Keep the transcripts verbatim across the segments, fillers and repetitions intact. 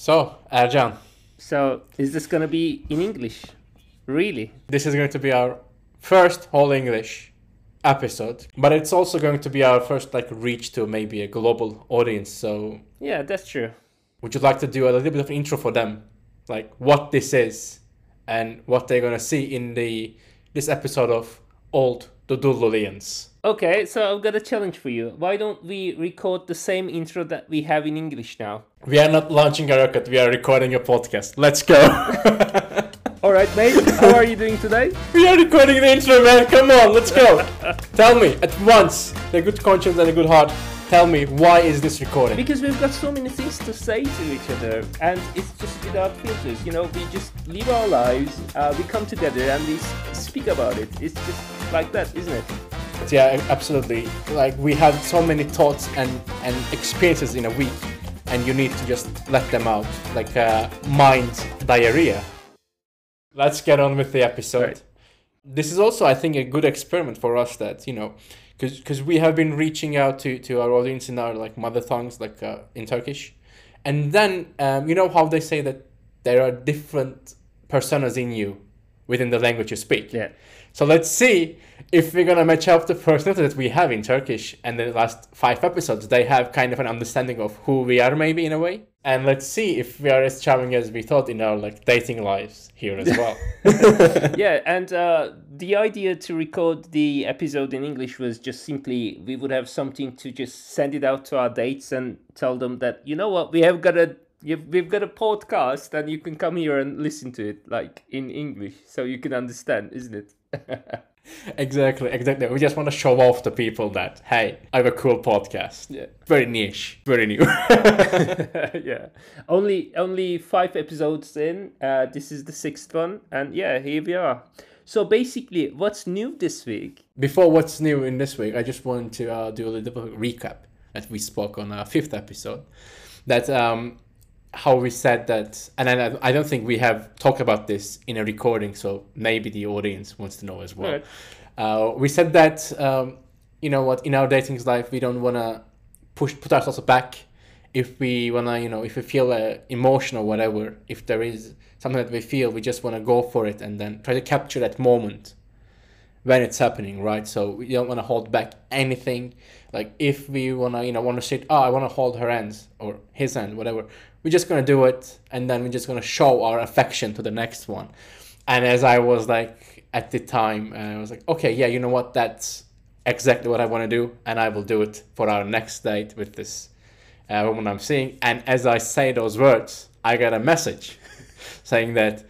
So, Ercan, So, is this gonna be in English? Really? this is going to be our first whole English episode, but it's also going to be our first like reach to maybe a global audience. So, Yeah, that's true. would you like to do a little bit of intro for them, like what this is and what they're gonna see in the this episode of Old Dudulians? Okay, so I've got a challenge for you. Why don't we record the same intro that we have in English now? We are not launching a rocket. We are recording a podcast. Let's go. All right, mate. How are you doing today? We are recording the intro, man. Come on, let's go. Tell me at once, the good conscience and the good heart. Tell me, why is this recording? Because we've got so many things to say to each other, and it's just without filters. You know, we just live our lives. Uh, we come together and we s- speak about it. It's just like that, isn't it? Yeah, absolutely. Like we have so many thoughts and and experiences in a week, and you need to just let them out, like uh, mind diarrhea. Let's get on with the episode. Right. This is also, I think, a good experiment for us. That you know, because because we have been reaching out to to our audience in our like mother tongues, like uh, in Turkish, and then um, you know how they say that there are different personas in you within the language you speak. Yeah. So let's see if we're gonna match up the personality that we have in Turkish, and the last five episodes they have kind of an understanding of who we are, maybe in a way. And let's see if we are as charming as we thought in our like dating lives here as well. Yeah, and uh, the idea to record the episode in English was just simply we would have something to just send it out to our dates and tell them that, you know what, we have got a you've, we've got a podcast and you can come here and listen to it like in English so you can understand, isn't it? Exactly, exactly. We just want to show off to people that, hey, I have a cool podcast. Yeah. Very niche, very new. Yeah. Only only five episodes in. Uh, this is the sixth one, and yeah, here we are. So basically, what's new this week? Before what's new in this week, I just want to uh, do a little bit of a recap that we spoke on our fifth episode. That um, how we said that, and I, I don't think we have talked about this in a recording, so maybe the audience wants to know as well. Right. Uh, we said that, um, you know what, in our dating life, we don't want to push put ourselves back. If we want to, you know, if we feel uh, emotion or whatever, if there is something that we feel, we just want to go for it and then try to capture that moment when it's happening, right? So we don't want to hold back anything. Like if we want to, you know, want to say, oh, I want to hold her hands or his hand, whatever. We're just going to do it. And then we're just going to show our affection to the next one. And as I was like, at the time, uh, I was like, okay, yeah, you know what? That's exactly what I want to do. And I will do it for our next date with this uh, woman I'm seeing. And as I say those words, I got a message saying that,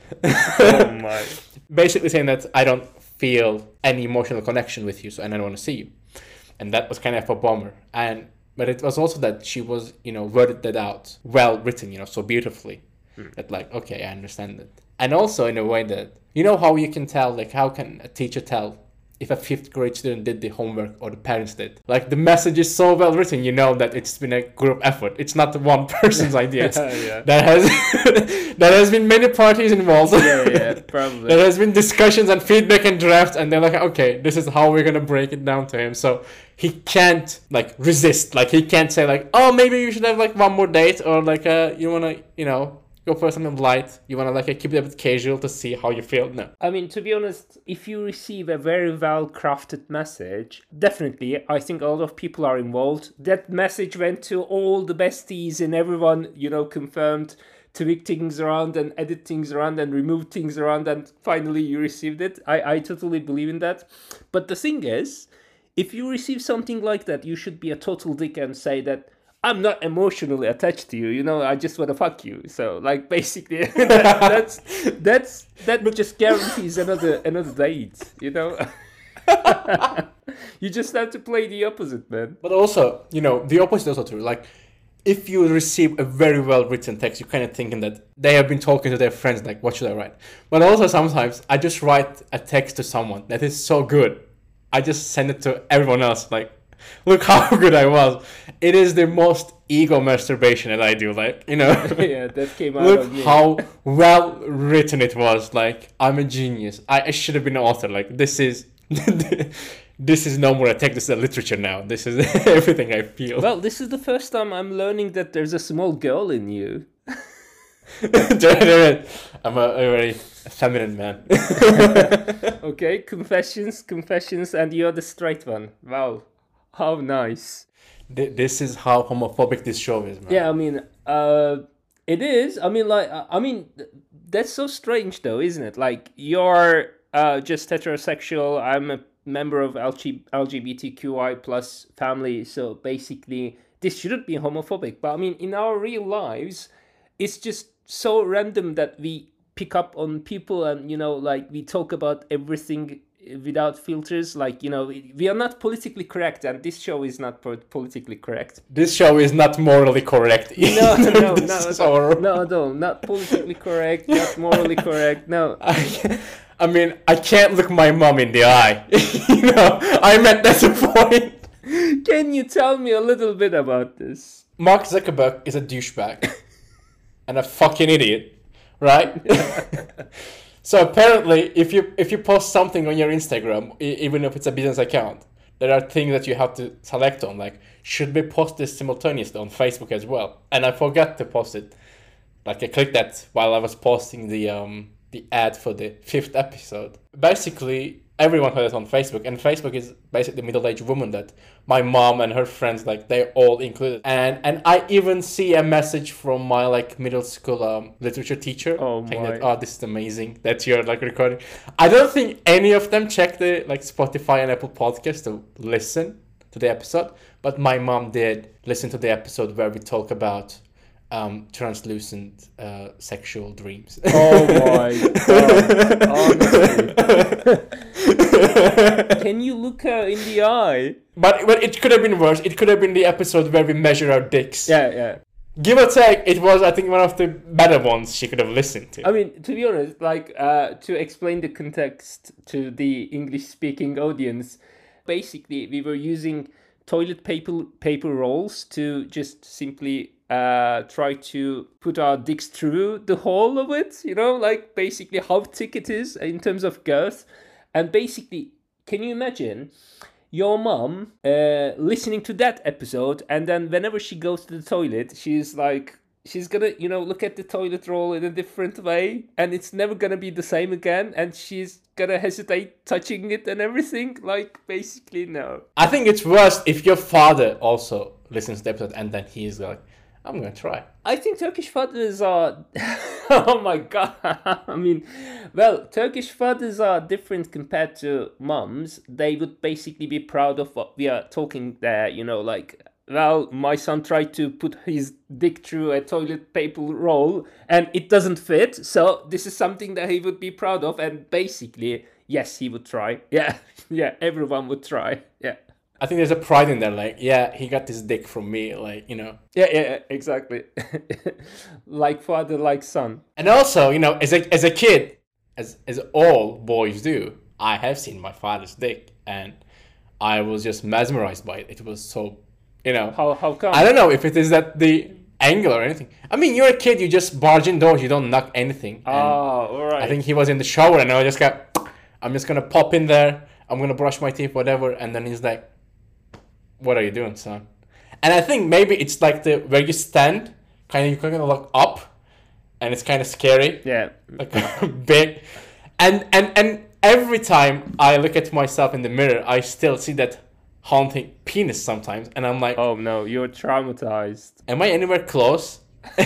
Oh my. basically saying that I don't feel any emotional connection with you, so and I don't want to see you. And that was kind of a bummer. And but it was also that she was, you know, worded that out, well written, you know, so beautifully. Hmm. That like, okay, I understand it. And also in a way that, you know how you can tell, like how can a teacher tell if a fifth grade student did the homework or the parents did? Like the message is so well written, you know that it's been a group effort. It's not one person's idea. It's, Yeah. There has there has been many parties involved. Yeah, yeah, probably. There has been discussions and feedback and drafts, and they're like, okay, this is how we're gonna break it down to him. So he can't like resist. Like he can't say like, oh, maybe you should have like one more date, or like uh, you wanna, you know, go for something light. You wanna like keep it a bit casual to see how you feel. No. I mean, to be honest, if you receive a very well crafted message, definitely, I think a lot of people are involved. That message went to all the besties and everyone, you know, confirmed, tweak things around and edit things around and remove things around, and finally you received it. I, I totally believe in that. But the thing is, if you receive something like that, you should be a total dick and say that, I'm not emotionally attached to you, you know, I just want to fuck you. So, like, basically, that, that's, that's, that just guarantees another, another date, you know? You just have to play the opposite, man. But also, you know, the opposite is also true. Like, if you receive a very well written text, you're kind of thinking that they have been talking to their friends, like, what should I write? But also sometimes I just write a text to someone that is so good. I just send it to everyone else, like, look how good I was. It is the most ego masturbation that I do, like, you know. Yeah, that came out Look of me. how well written it was. Like, I'm a genius. I, I should have been an author. Like, this is this is no more a text, this is a literature now. This is everything I feel. Well, this is the first time I'm learning that there's a small girl in you. I'm a, a very feminine man. Okay, confessions, confessions, and you're the straight one. Wow, how nice. Th- This is how homophobic this show is, man. Yeah, I mean, uh, it is. I mean, like, uh, I mean, th- that's so strange, though, isn't it? Like, you're uh, just heterosexual. I'm a member of L G- LGBTQI plus family, so basically, this shouldn't be homophobic. But I mean, in our real lives, it's just so random that we pick up on people, and you know, like, we talk about everything without filters. Like, you know, we we are not politically correct, and this show is not po- politically correct. This show is not morally correct. No, no, no, This no, is no, our- no, no, not politically correct, not morally correct. No, I, I mean, I can't look my mom in the eye. You know, I meant that's the point. can you tell me a little bit about this? Mark Zuckerberg is a douchebag and a fucking idiot, right? So apparently, if you if you post something on your Instagram, e- even if it's a business account, there are things that you have to select on, like should we post this simultaneously on Facebook as well? And I forgot to post it. Like I clicked that while I was posting the um the ad for the fifth episode. Basically, everyone had it on Facebook, and Facebook is basically middle-aged woman that my mom and her friends, like, they're all included. And and I even see a message from my like middle school um literature teacher Oh saying my. that, oh, this is amazing that you're like recording. I don't think any of them check the like Spotify and Apple Podcast to listen to the episode, but my mom did listen to the episode where we talk about um translucent uh sexual dreams. Oh my god! Honestly, can you look her in the eye? But but it could have been worse. It could have been the episode where we measure our dicks. Yeah, yeah. Give or take, it was, I think, one of the better ones she could have listened to. I mean, to be honest, like, uh, to explain the context to the English-speaking audience, basically, we were using toilet paper paper rolls to just simply uh, try to put our dicks through the hole of it, you know, like, basically how thick it is in terms of girth. And basically, can you imagine your mom uh, listening to that episode, and then whenever she goes to the toilet, she's like, she's gonna, you know, look at the toilet roll in a different way, and it's never gonna be the same again, and she's gonna hesitate touching it and everything. Like, basically, no. I think it's worse if your father also listens to the episode and then he's like, I'm gonna try. I think Turkish fathers are. Oh my god! I mean, well, Turkish fathers are different compared to moms. They would basically be proud of what we are talking there. You know, like, well, my son tried to put his dick through a toilet paper roll and it doesn't fit. So this is something that he would be proud of. And basically, yes, he would try. Yeah, yeah, everyone would try. Yeah. I think there's a pride in there, like, yeah, he got this dick from me, like, you know. Yeah, yeah, yeah, exactly. Like father, like son. And also, you know, as a as a kid, as as all boys do, I have seen my father's dick, and I was just mesmerized by it. It was so, you know, How how come? I don't know if it is that the angle or anything. I mean, you're a kid, you just barge indoors, you don't knock anything. Oh, And all right. I think he was in the shower, and I just got, I'm just gonna pop in there, I'm gonna brush my teeth, whatever, and then he's like, what are you doing, son? And I think maybe it's like the where you stand, kind of you kind of look up, and it's kind of scary, Yeah. like big, and and and every time I look at myself in the mirror, I still see that haunting penis sometimes, and I'm like, Oh no, you're traumatized. am I anywhere close?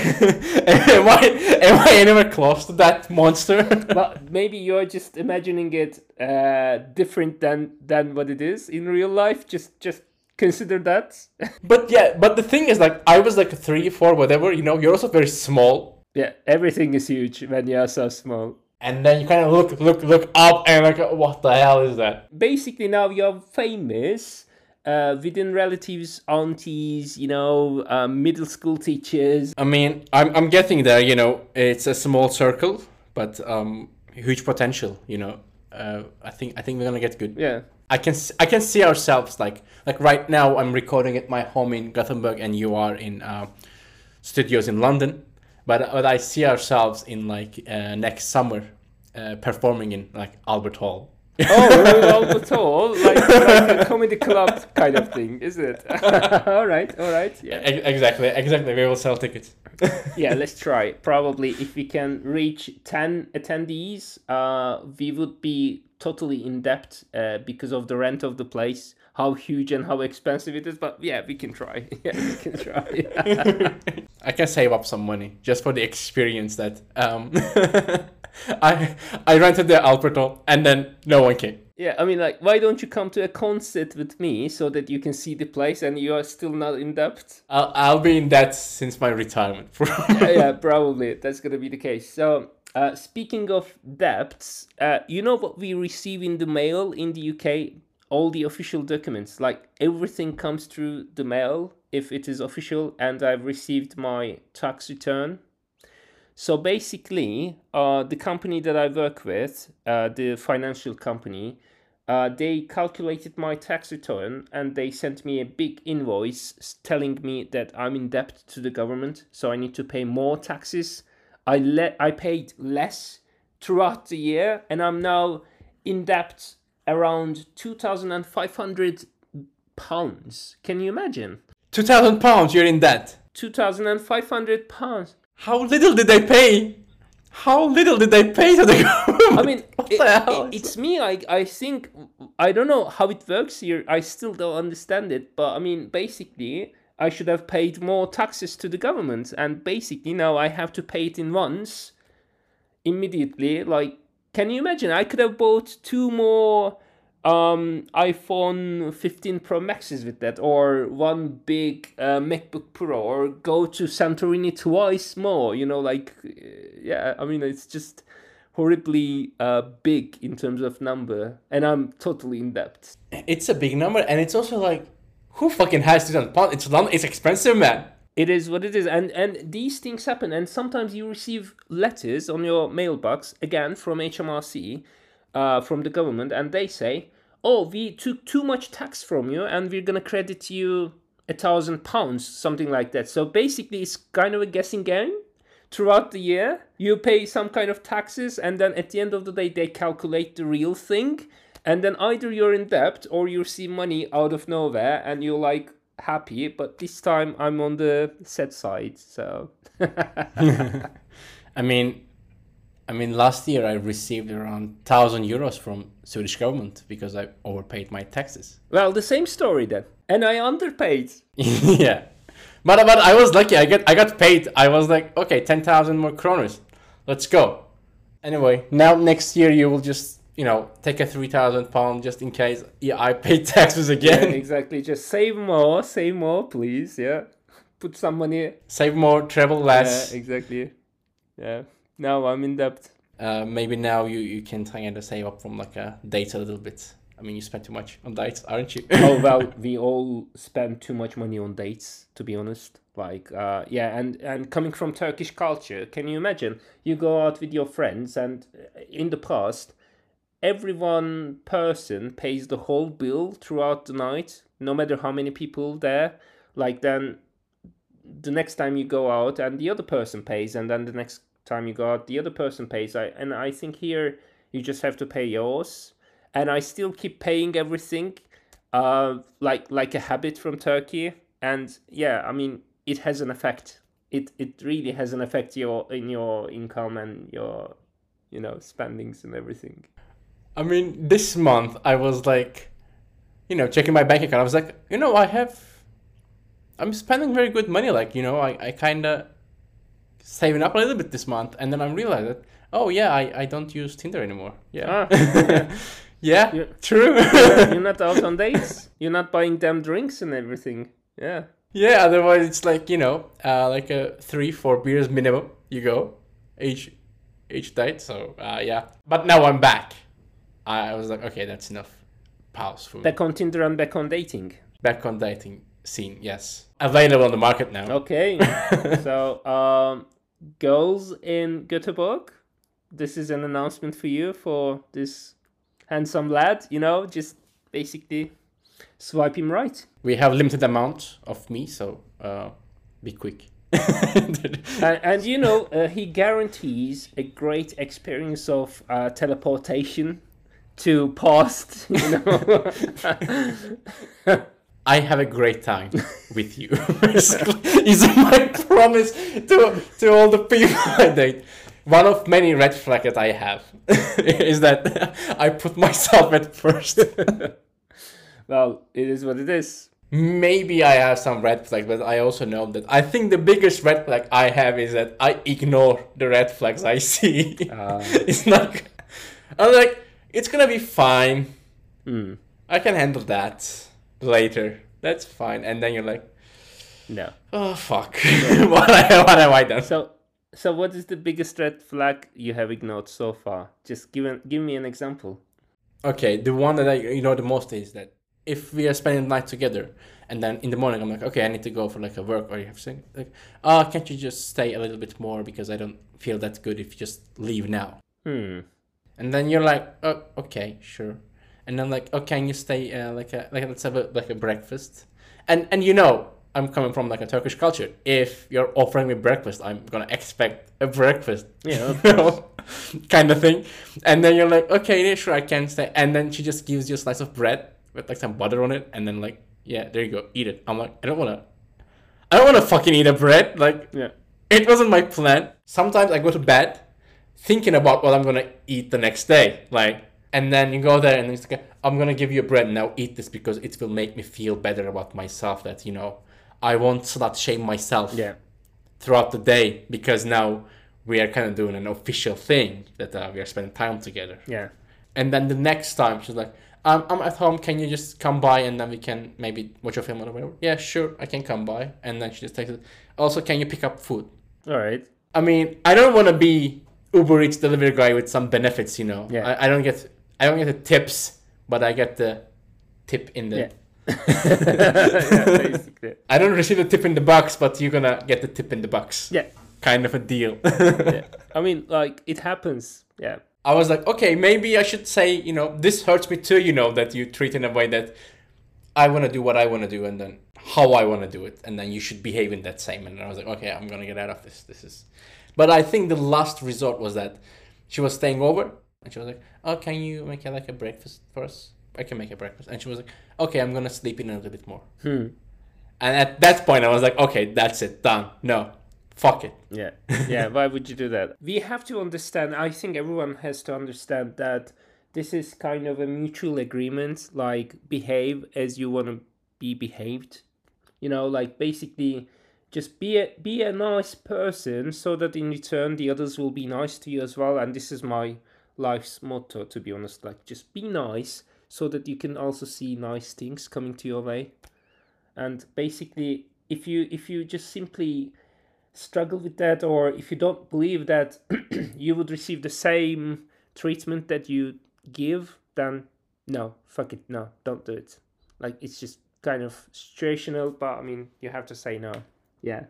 am I am I anywhere close to that monster? But maybe you're just imagining it uh, different than than what it is in real life. Just just consider that. But yeah, but the thing is, like, I was like three, four, whatever. You know, you're also very small. Yeah, everything is huge when you're so small. And then you kind of look, look, look up, and like, what the hell is that? Basically, now you're famous uh, within relatives, aunties, you know, uh, middle school teachers. I mean, I'm, I'm getting there. You know, it's a small circle, but um, huge potential. You know, uh, I think, I think we're gonna get good. Yeah. I can, s- I can see ourselves like, like right now. I'm recording at my home in Gothenburg, and you are in uh, studios in London. But but I see ourselves in like uh, next summer uh, performing in like Albert Hall. Oh, Royal Albert Hall, like, like a comedy club kind of thing, is it? All right, all right, yeah. E- exactly, exactly. We will sell tickets. Yeah, let's try. Probably if we can reach ten attendees, uh, we would be totally in debt uh, because of the rent of the place, how huge and how expensive it is. But yeah, we can try. Yeah, we can try. I can save up some money just for the experience that um, I I rented the Alberto and then no one came. Yeah, I mean, like, why don't you come to a concert with me so that you can see the place and you are still not in debt? I'll I'll be in debt since my retirement. yeah, yeah, probably that's gonna be the case. So, uh, speaking of debts, uh, you know what we receive in the mail in the U K? All the official documents, like everything comes through the mail if it is official, and I've received my tax return. So basically, uh, the company that I work with, uh, the financial company, uh, they calculated my tax return and they sent me a big invoice telling me that I'm in debt to the government, so I need to pay more taxes. I le- I paid less throughout the year, and I'm now in debt around two thousand five hundred pounds. Can you imagine? Two thousand pounds. You're in debt. two thousand five hundred pounds. How little did they pay? How little did they pay to the government? I mean, what it, the hell? it, it's me. I I think I don't know how it works here. I still don't understand it. But I mean, basically, I should have paid more taxes to the government, and basically now I have to pay it in once, immediately. Like, can you imagine? I could have bought two more um iPhone fifteen Pro Maxes with that, or one big uh, MacBook Pro, or go to Santorini twice more, you know, like, yeah, I mean, it's just horribly uh, big in terms of number, and I'm totally in debt. It's a big number, and it's also like, who fucking has two thousand pounds? It's London, it's expensive, man. It is what it is, and and these things happen, and sometimes you receive letters on your mailbox, again, from H M R C, uh, from the government, and they say, oh, we took too much tax from you, and we're gonna credit you a thousand pounds, something like that. So basically, it's kind of a guessing game. Throughout the year, you pay some kind of taxes, and then at the end of the day, they calculate the real thing, and then either you're in debt or you receive money out of nowhere, and you're like happy. But this time, I'm on the sad side. So, I mean. I mean, last year I received around one thousand euros from Swedish government because I overpaid my taxes. Well, the same story then. And I underpaid. Yeah. But, but I was lucky. I get I got paid. I was like, okay, ten thousand more kroners. Let's go. Anyway, now next year you will just, you know, take a three thousand pound just in case yeah, I pay taxes again. Yeah, exactly. Just save more, save more, please. Yeah. Put some money. Save more, travel less. Yeah, exactly. Yeah. Now I'm in debt. Uh, maybe now you, you can kind of save up from like a date a little bit. I mean, you spend too much on dates, aren't you? Oh, well, we all spend too much money on dates, to be honest. Like, uh, yeah, and, and coming from Turkish culture, can you imagine? You go out with your friends, and in the past, every one person pays the whole bill throughout the night, no matter how many people there. Like, then the next time you go out, and the other person pays, and then the next time you go out, the other person pays. I and I think here you just have to pay yours, and I still keep paying everything, uh, like like a habit from Turkey. And yeah, I mean, it has an effect. It it really has an effect your in your income and your, you know, spendings and everything. I mean, this month I was like, you know, checking my bank account. I was like, you know, I have, I'm spending very good money. Like, you know, I I kind of saving up a little bit this month, and then I realized that, oh yeah, I, I don't use Tinder anymore. Yeah. Ah, yeah. Yeah, You're, true. you're, you're not out on dates. You're not buying them drinks and everything. Yeah. Yeah, otherwise it's like, you know, uh, like a three, four beers minimum. You go each each date. So uh, yeah. But now I'm back. I was like, okay, that's enough. Pause for me. Back on Tinder and back on dating. Back on dating scene, yes. Available on the market now. Okay. So, um, girls in Göteborg, this is an announcement for you, for this handsome lad, you know, just basically swipe him right. We have limited amount of me, so uh, be quick. and, and you know, uh, he guarantees a great experience of uh, teleportation to past, you know. I have a great time with you. Basically, is my promise to to all the people I date. One of many red flags that I have is that I put myself at first. Well, it is what it is. Maybe I have some red flags, but I also know that I think the biggest red flag I have is that I ignore the red flags I see. Uh, It's not. I'm like, it's gonna be fine. mm, I can handle that later. That's fine. And then you're like, no. oh fuck, what, I- what have I done? So, so what is the biggest red flag you have ignored so far? Just give an, give me an example. Okay, the one that I ignore the most is that if we are spending the night together, and then in the morning I'm like, okay, I need to go for like a work, or you have to like, oh, can't you just stay a little bit more because I don't feel that good if you just leave now. Hmm. And then you're like, oh, okay, sure. And then like, oh, can you stay uh, like a like let's have a like a breakfast, and and you know I'm coming from like a Turkish culture. If you're offering me breakfast, I'm gonna expect a breakfast, Yeah. you know, kind of thing. And then you're like, okay, yeah, sure, I can stay. And then she just gives you a slice of bread with like some butter on it, and then like, yeah, there you go, eat it. I'm like, I don't wanna, I don't wanna fucking eat a bread. Like, Yeah. it wasn't my plan. Sometimes I go to bed thinking about what I'm gonna eat the next day, like. And then you go there and it's like, I'm gonna give you a bread, now eat this because it will make me feel better about myself, that, you know, I won't slut shame myself Yeah. throughout the day because now we are kind of doing an official thing that uh, we are spending time together. Yeah. And then the next time she's like, um, I'm at home, can you just come by and then we can maybe watch a film or whatever? Yeah, sure, I can come by. And then she just takes it. Also, can you pick up food? All right. I mean, I don't want to be Uber Eats delivery guy with some benefits, you know. Yeah. I, I don't get I don't get the tips, but I get the tip in the. Yeah. Yeah, basically. I don't receive the tip in the box, but you're gonna get the tip in the box. Yeah. Kind of a deal. Yeah. I mean, like, it happens. Yeah. I was like, okay, maybe I should say, you know, this hurts me too, you know, that you treat in a way that I want to do what I want to do and then how I want to do it. And then you should behave in that same. And I was like, okay, I'm going to get out of this. This is. But I think the last resort was that she was staying over and she was like, oh, can you make like a breakfast for us? I can make a breakfast. And she was like, okay, I'm going to sleep in a little bit more. Hmm. And at that point, I was like, okay, that's it. Done. No. Fuck it. Yeah. Yeah. Why would you do that? We have to understand, I think everyone has to understand that this is kind of a mutual agreement, like behave as you want to be behaved. You know, like basically just be a, be a nice person so that in return the others will be nice to you as well. And this is my life's motto, to be honest. Like, just be nice so that you can also see nice things coming to your way. And basically, if you if you just simply struggle with that, or if you don't believe that you would receive the same treatment that you give, then no, fuck it, no, don't do it. Like, it's just kind of situational, but I mean, you have to say no. Yeah.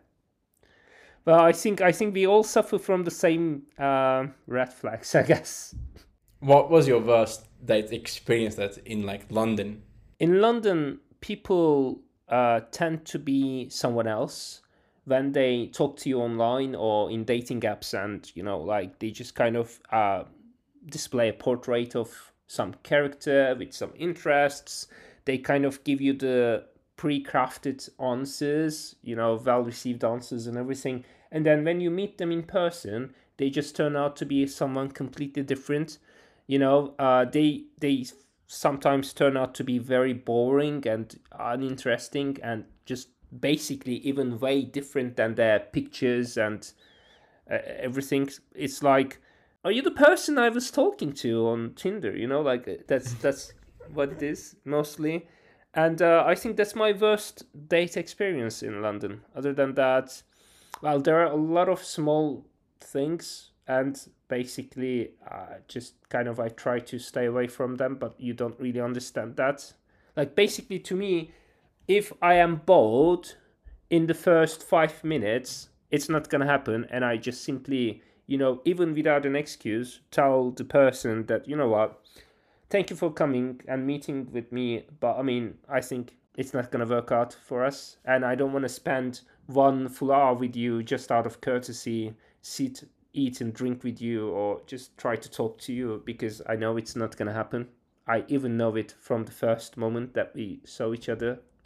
Well, I think I think we all suffer from the same uh, red flags, I guess. What was your worst date experience that in like London? In London, people uh, tend to be someone else when they talk to you online or in dating apps, and you know, like they just kind of uh, display a portrait of some character with some interests. They kind of give you the pre-crafted answers, you know, well-received answers and everything. And then when you meet them in person, they just turn out to be someone completely different. You know, uh, they they sometimes turn out to be very boring and uninteresting and just basically even way different than their pictures and uh, everything. It's like, are you the person I was talking to on Tinder? You know, like that's that's what it is mostly. And uh, I think that's my worst date experience in London. Other than that, well, there are a lot of small things, and basically uh, just kind of I try to stay away from them, but you don't really understand that. Like, basically, to me, if I am bored in the first five minutes, it's not going to happen. And I just simply, you know, even without an excuse, tell the person that, you know what, thank you for coming and meeting with me, but I mean, I think it's not going to work out for us. And I don't want to spend one full hour with you just out of courtesy, sit, eat and drink with you, or just try to talk to you, because I know it's not going to happen. I even know it from the first moment that we saw each other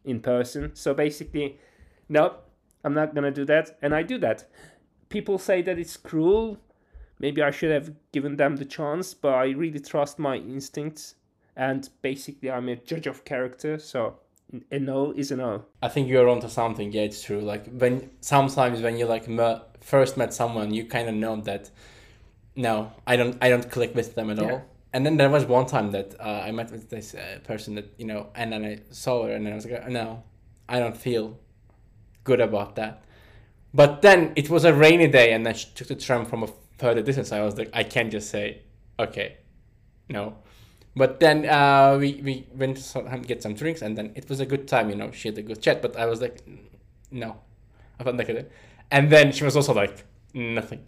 in person. So basically, no, I'm not gonna do that, and I do that. People say that it's cruel. Maybe I should have given them the chance, but I really trust my instincts, and basically I'm a judge of character, so a no is a no. I think you're onto something. Yeah, it's true. Like when sometimes when you like me- first met someone, you kind of know that no, I don't, I don't click with them at Yeah. all. And then there was one time that uh, I met with this uh, person that you know, and then I saw her, and then I was like, no, I don't feel good about that. But then it was a rainy day, and then she took the tram from a further distance. I was like, I can't just say, okay, no. But then uh, we we went to some, get some drinks, and then it was a good time. You know, she had a good chat. But I was like, no, I felt like it. And then she was also like, nothing.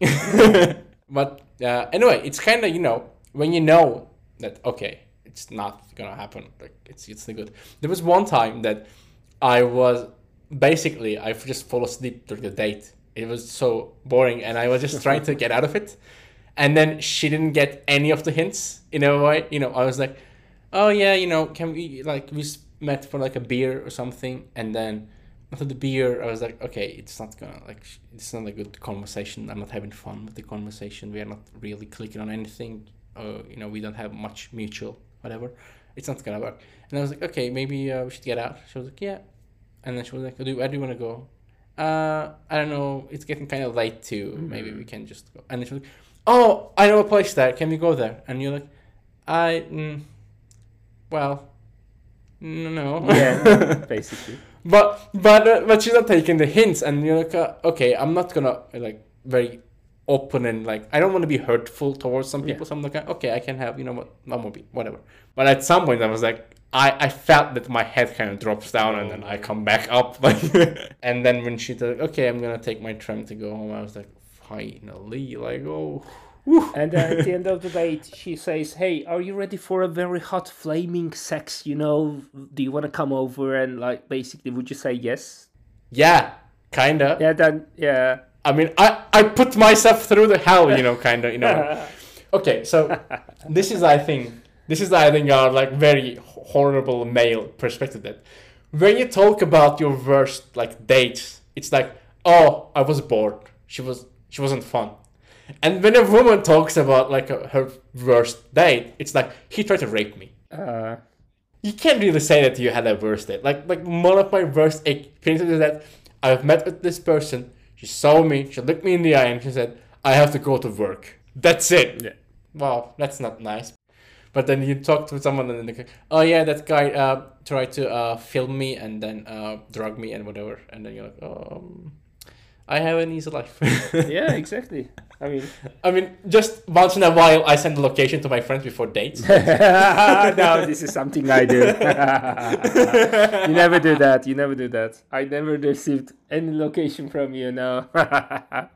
But uh, anyway, it's kind of, you know, when you know that okay, it's not gonna happen. Like it's it's good. There was one time that I was basically I just fall asleep during the date. It was so boring, and I was just trying to get out of it. And then she didn't get any of the hints in a way. You know, I was like, oh yeah, you know, can we like we met for like a beer or something, and then after the beer, I was like, okay, it's not gonna like it's not a good conversation. I'm not having fun with the conversation. We are not really clicking on anything. Or you know, we don't have much mutual whatever. It's not gonna work. And I was like, okay, maybe uh, we should get out. She was like, yeah. And then she was like, do where do you want to go? Uh, I don't know. It's getting kind of late too. Mm-hmm. Maybe we can just go. And then she was like, oh, I know a place there. Can we go there? And you're like, I, mm, well, no. Yeah, basically. But but uh, but she's not taking the hints, and you're like, uh, okay, I'm not gonna like very open and like I don't want to be hurtful towards some people. Yeah. So I'm like, okay, I can have you know what, I'm gonna be whatever. But at some point, I was like, I, I felt that my head kind of drops down, oh. and then I come back up. Like, and then when she said, okay, I'm gonna take my tram to go home, I was like, finally, like oh. And uh, at the end of the date, she says, hey, are you ready for a very hot flaming sex, you know? Do you want to come over? And, like, basically, would you say yes? Yeah, kind of. Yeah, then, yeah. I mean, I, I put myself through the hell, you know, kind of, you know. Okay, so this is, I think, this is, I think, our, like, very horrible male perspective that when you talk about your worst, like, dates, it's like, oh, I was bored. She was, she wasn't fun. And when a woman talks about like a, her worst date, it's like he tried to rape me. Uh, you can't really say that you had a worst date. Like like one of my worst experiences is that I've met with this person. She saw me. She looked me in the eye and she said, "I have to go to work." That's it. Yeah. Wow, that's not nice. But then you talk to someone and they're like, "Oh yeah, that guy uh, tried to uh, film me and then uh, drug me and whatever." And then you're like, "Oh, um, I have an easy life." Yeah, exactly. I mean, I mean, just once in a while, I send the location to my friends before dates. No, this is something I do. You never do that. You never do that. I never received any location from you. No. But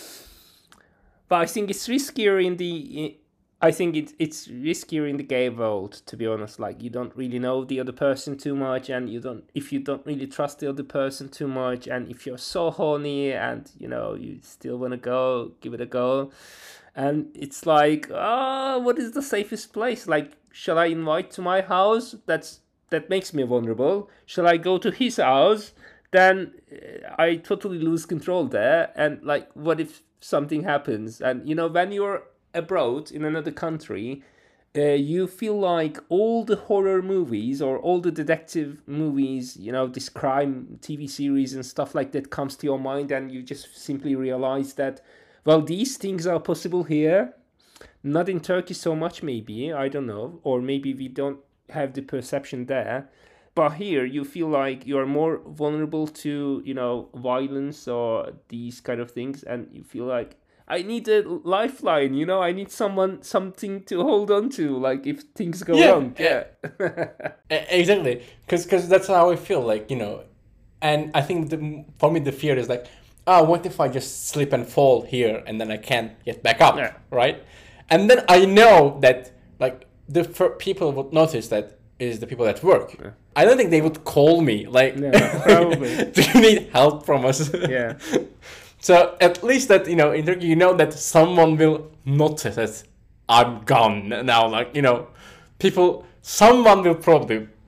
I think it's riskier in the. I think it's it's riskier in the gay world, to be honest. Like, you don't really know the other person too much, and you don't if you don't really trust the other person too much, and if you're so horny and you know you still want to go, give it a go, and it's like, oh, what is the safest place? Like, shall I invite to my house? That's that makes me vulnerable. Shall I go to his house? Then I totally lose control there. And like, what if something happens? And you know, when you're abroad in another country, uh, you feel like all the horror movies or all the detective movies, you know, this crime T V series and stuff like that comes to your mind, and you just simply realize that, well, these things are possible here. Not in Turkey so much, maybe, I don't know, or maybe we don't have the perception there. But here you feel like you're more vulnerable to, you know, violence or these kind of things, and you feel like, I need a lifeline, you know, I need someone, something to hold on to, like, if things go yeah, wrong. Yeah, exactly. Because because that's how I feel, like, you know. And I think the, for me, the fear is like, oh, what if I just slip and fall here and then I can't get back up, yeah. right? And then I know that, like, the f- people would notice that is the people at work. Yeah. I don't think they would call me, like, no, probably. Do you need help from us? Yeah. So at least that, you know, in Turkey, you know that someone will notice that I'm gone now. Like, you know, people, someone will probably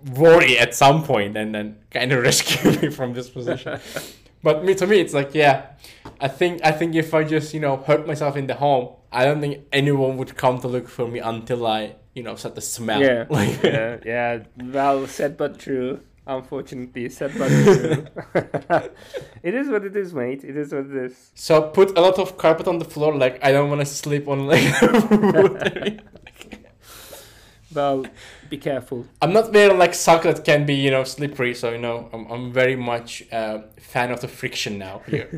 worry at some point and then kind of rescue me from this position. But me to me, it's like, yeah, I think I think if I just, you know, hurt myself in the home, I don't think anyone would come to look for me until I, you know, start to smell. Yeah, Like, yeah, yeah. Well said, but true. Unfortunately, said but true. It is what it is, mate. It is what it is. So put a lot of carpet on the floor. Like, I don't want to sleep on like. Well, be careful. I'm not wearing like sock that can be, you know, slippery. So, you know, I'm I'm very much a uh, fan of the friction now here.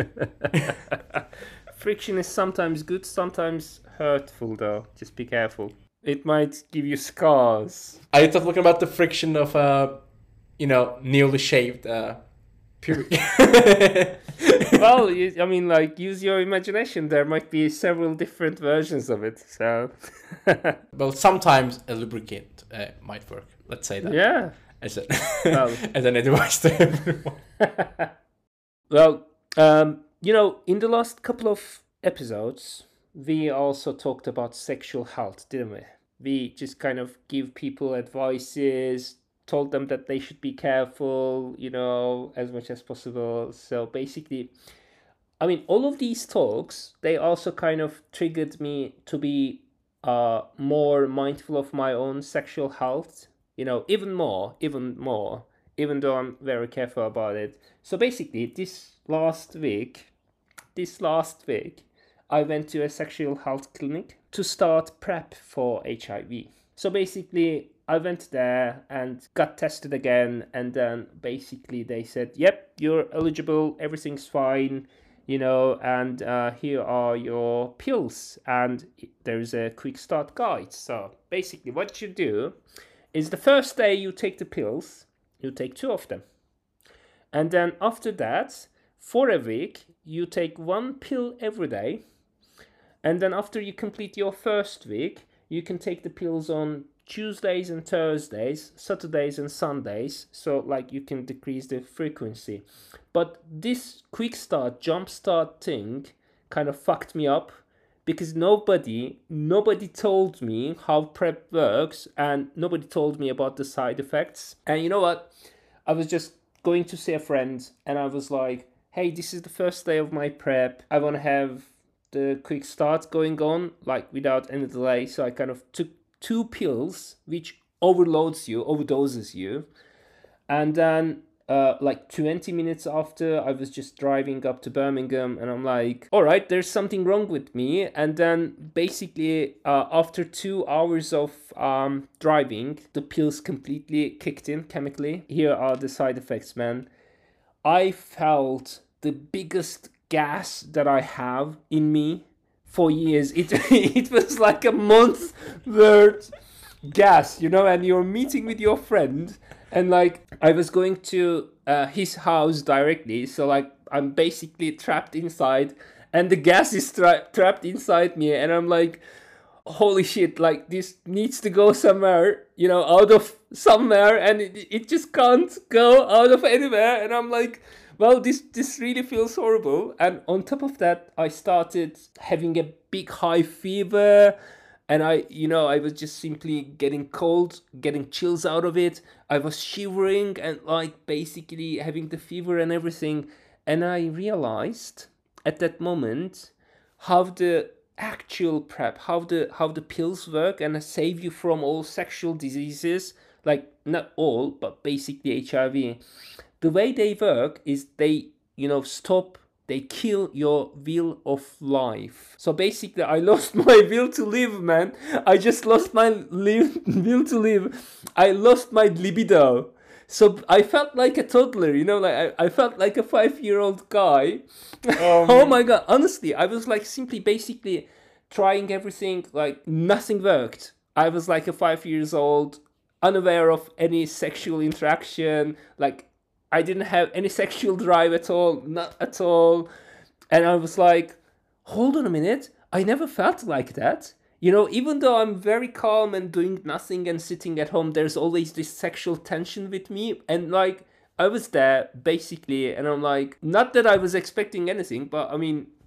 Friction is sometimes good, sometimes hurtful, though. Just be careful. It might give you scars. Are you talking about the friction of, uh, you know, newly shaved uh, pubic? Well, you, I mean, like, use your imagination. There might be several different versions of it, so... Well, sometimes a lubricant uh, might work. Let's say that. Yeah. As, a, Well. as an advice to everyone. Well, um, you know, in the last couple of episodes, we also talked about sexual health, didn't we? We just kind of give people advices, told them that they should be careful, you know, as much as possible. So basically, I mean, all of these talks, they also kind of triggered me to be uh, more mindful of my own sexual health, you know, even more, even more, even though I'm very careful about it. So basically, this last week, this last week, I went to a sexual health clinic to start prep for H I V. So basically, I went there and got tested again, and then basically they said, yep, you're eligible, everything's fine, you know, and uh, here are your pills, and there's a quick start guide. So basically what you do is the first day you take the pills, you take two of them. And then after that, for a week, you take one pill every day. And then after you complete your first week, you can take the pills on Tuesdays and Thursdays, Saturdays and Sundays. So like you can decrease the frequency. But this quick start, jump start thing kind of fucked me up because nobody, nobody told me how PrEP works and nobody told me about the side effects. And you know what? I was just going to see a friend and I was like, hey, this is the first day of my PrEP. I want to have the quick start going on, like without any delay. So I kind of took two pills, which overloads you, overdoses you. And then uh, like twenty minutes after, I was just driving up to Birmingham and I'm like, all right, there's something wrong with me. And then basically uh, after two hours of um, driving, the pills completely kicked in chemically. Here are the side effects, man. I felt the biggest gas that I have in me for years. It it was like a month worth gas, you know, and you're meeting with your friend and like I was going to uh, his house directly, so like I'm basically trapped inside and the gas is tra- trapped inside me and I'm like, holy shit, like this needs to go somewhere, you know, out of somewhere, and it, it just can't go out of anywhere. And I'm like, well, this this really feels horrible. And on top of that, I started having a big high fever, and I, you know, I was just simply getting cold, getting chills out of it. I was shivering and like basically having the fever and everything. And I realized at that moment how the actual PrEP, how the how the pills work and save you from all sexual diseases, like not all, but basically H I V. The way they work is they, you know, stop, they kill your will of life. So basically I lost my will to live, man. I just lost my live, will to live. I lost my libido. So I felt like a toddler, you know, like I, I felt like a five-year-old guy. Um, oh my God, honestly, I was like simply basically trying everything, like nothing worked. I was like a five years old, unaware of any sexual interaction, like I didn't have any sexual drive at all, not at all. And I was like, hold on a minute, I never felt like that. You know, even though I'm very calm and doing nothing and sitting at home, there's always this sexual tension with me. And like, I was there basically, and I'm like, not that I was expecting anything, but I mean,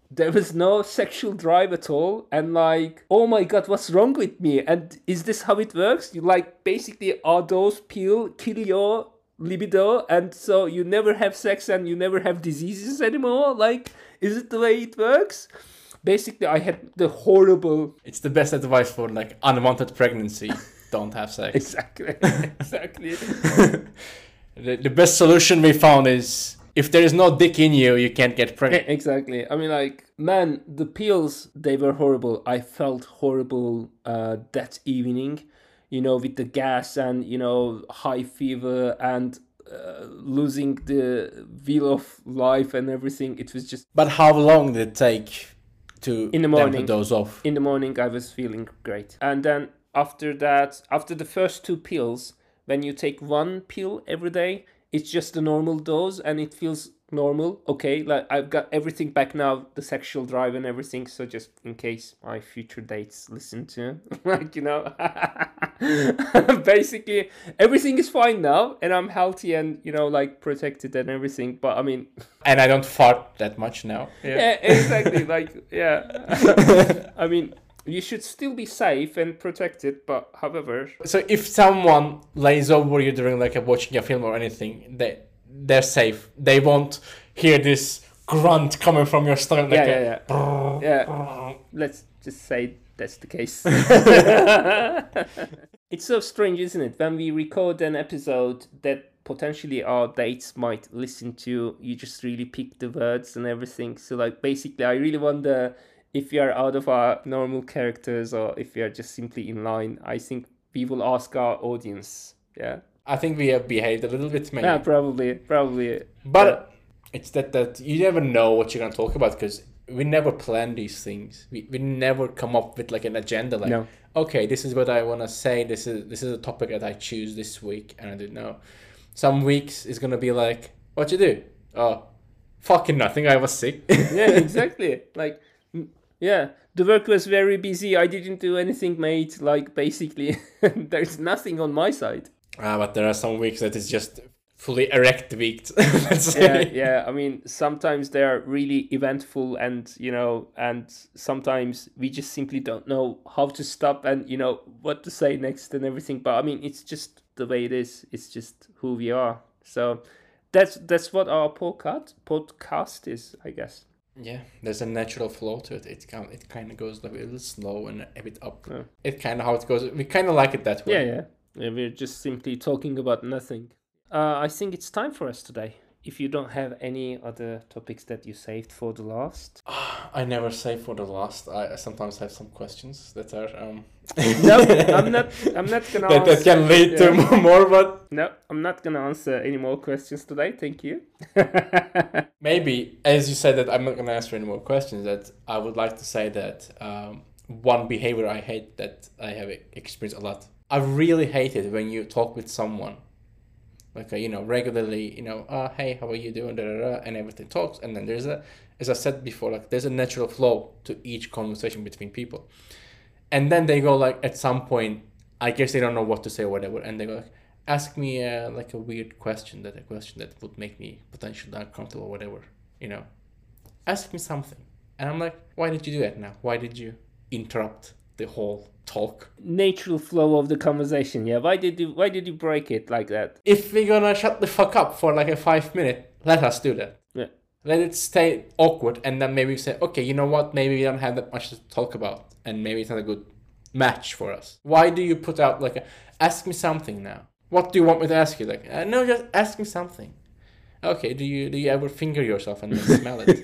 there was no sexual drive at all, and like, oh my god, what's wrong with me? And is this how it works? You like basically are those pill kill your libido, and so you never have sex and you never have diseases anymore? Like, is it the way it works? Basically, I had the horrible. It's the best advice for like unwanted pregnancy. Don't have sex. Exactly. Exactly. the, the best solution we found is if there is no dick in you, you can't get pregnant. Exactly. I mean, like, man, the pills, they were horrible. I felt horrible uh, that evening, you know, with the gas and, you know, high fever and uh, losing the wheel of life and everything. It was just... But how long did it take to in the morning, those off? In the morning, I was feeling great. And then after that, after the first two pills, when you take one pill every day, it's just a normal dose and it feels normal. Okay, like I've got everything back now, the sexual drive and everything. So just in case my future dates listen to, like, you know, basically everything is fine now and I'm healthy and, you know, like protected and everything. But I mean, and I don't fart that much now. Yeah, yeah exactly. Like, yeah, I mean, you should still be safe and protected, but however... So if someone lays over you during like a, watching a film or anything, they, they're safe. They won't hear this grunt coming from your stomach. Like yeah, a, yeah, yeah. yeah. Let's just say that's the case. It's so strange, isn't it? When we record an episode that potentially our dates might listen to, you just really pick the words and everything. So like basically, I really wonder... if we are out of our normal characters or if we are just simply in line. I think we will ask our audience. Yeah. I think we have behaved a little bit maybe. Yeah, probably, probably. But yeah. It's that, that you never know what you're going to talk about because we never plan these things. We we never come up with like an agenda like, no. okay, this is what I want to say. This is this is a topic that I choose this week. And I didn't know. Some weeks is going to be like, what you do? Oh, fucking nothing. I was sick. Yeah, exactly. Like... Yeah, the work was very busy. I didn't do anything, mate. Like, basically, there's nothing on my side. Ah, but there are some weeks that is just fully erect weeks. yeah, yeah. I mean, sometimes they are really eventful and, you know, and sometimes we just simply don't know how to stop and, you know, what to say next and everything. But, I mean, it's just the way it is. It's just who we are. So that's that's what our podcast, podcast is, I guess. Yeah, there's a natural flow to it. It kind it kind of goes like a little slow and a bit up. Yeah. It's kind of how it goes. We kind of like it that way. Yeah, yeah, yeah. We're just simply talking about nothing. Uh, I think it's time for us today. If you don't have any other topics that you saved for the last. I never save for the last. I sometimes have some questions that are um. No, I'm not. I'm not gonna. that, answer, that can lead yeah. to more, but no, I'm not gonna answer any more questions today. Thank you. Maybe, as you said that I'm not gonna answer any more questions. That I would like to say that um, one behavior I hate that I have experienced a lot. I really hate it when you talk with someone, like uh, you know, regularly. You know, uh, hey, how are you doing? Da, da, da, and everything talks, and then there's a, as I said before, like there's a natural flow to each conversation between people. And then they go like, at some point, I guess they don't know what to say or whatever. And they go like, ask me uh, like a weird question, that a question that would make me potentially uncomfortable or whatever, you know. Ask me something. And I'm like, why did you do that now? Why did you interrupt the whole talk? Natural flow of the conversation, yeah. Why did you why did you break it like that? If we're gonna shut the fuck up for like a five minute, let us do that. Yeah. Let it stay awkward and then maybe say, okay, you know what? Maybe we don't have that much to talk about. And maybe it's not a good match for us. Why do you put out like a, ask me something now? What do you want me to ask you? Like, uh, no, just ask me something. Okay, do you do you ever finger yourself and then smell it?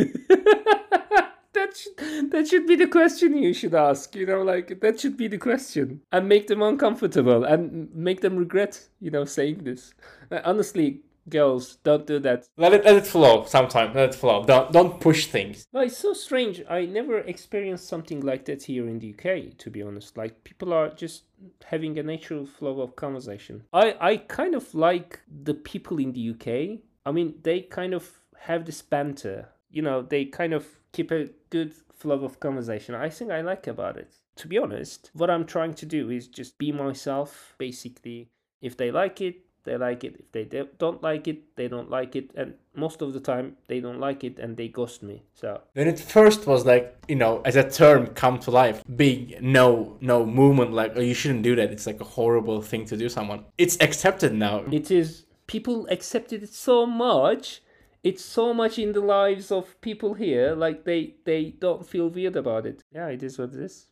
that should, that should be the question you should ask, you know, like that should be the question. And make them uncomfortable and make them regret, you know, saying this. Like, honestly, girls, don't do that. Let it let it flow sometime. Let it flow. Don't don't push things. Well, it's so strange. I never experienced something like that here in the U K, to be honest. Like, people are just having a natural flow of conversation. I, I kind of like the people in the U K. I mean, they kind of have this banter. You know, they kind of keep a good flow of conversation. I think I like about it. To be honest, what I'm trying to do is just be myself, basically. If they like it, they like it. If they don't like it, they don't like it. And most of the time, they don't like it and they ghost me. So when it first was like, you know, as a term come to life, big no, no movement, like, oh, you shouldn't do that. It's like a horrible thing to do someone. It's accepted now. It is. People accepted it so much. It's so much in the lives of people here. Like they, they don't feel weird about it. Yeah, it is what it is.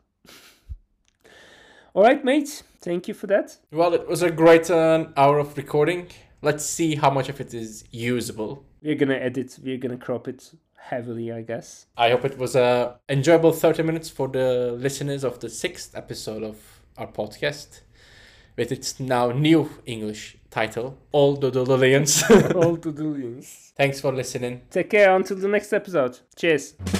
All right, mate. Thank you for that. Well, it was a great uh, hour of recording. Let's see how much of it is usable. We're going to edit. We're going to crop it heavily, I guess. I hope it was a enjoyable thirty minutes for the listeners of the sixth episode of our podcast, with its now new English title, All the Dodolians. All the Dodolians. Thanks for listening. Take care until the next episode. Cheers.